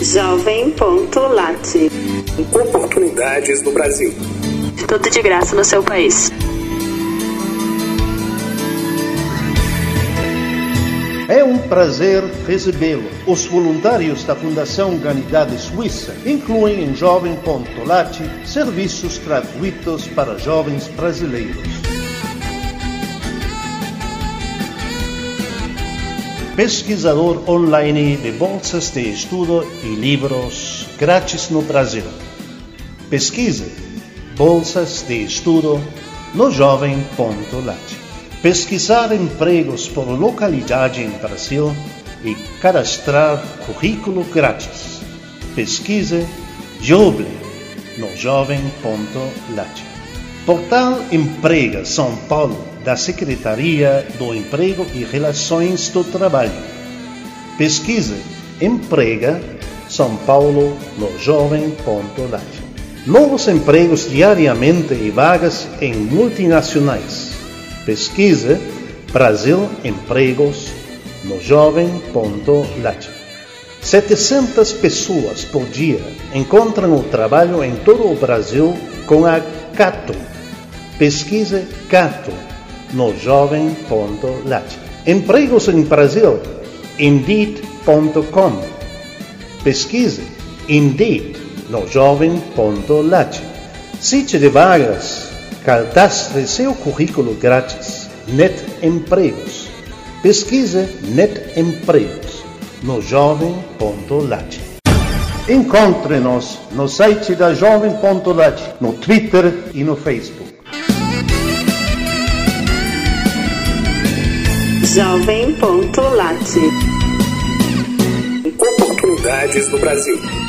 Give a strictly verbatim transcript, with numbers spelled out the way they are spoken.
Jovem.lat. Oportunidades no Brasil. Tudo de graça no seu país. É um prazer recebê-lo. Os voluntários da Fundação Humanidade Suíça incluem em Jovem.lat serviços gratuitos para jovens brasileiros. Pesquisador online de bolsas de estudo e livros grátis no Brasil. Pesquise bolsas de estudo no Jovem.lat. Pesquisar empregos por localidade em Brasil e cadastrar currículo grátis. Pesquise Joble no Jovem.lat. Portal Emprega São Paulo da Secretaria do Emprego e Relações do Trabalho. Pesquise Emprega São Paulo no Jovem.lat. Novos empregos diariamente e vagas em multinacionais. Pesquise Brasil Empregos no Jovem.lat. setecentas pessoas por dia encontram o trabalho em todo o Brasil com a Cato. Pesquise Cato no Jovem.lat. Empregos em Brasil, Indeed ponto com. Pesquise Indeed no Jovem.lat. Site de vagas, cadastre seu currículo grátis. Net Empregos. Pesquise Net Empregos no Jovem.lat. Encontre-nos no site da Jovem.lat, no Twitter e no Facebook. Jovem.lat. Oportunidades no Brasil.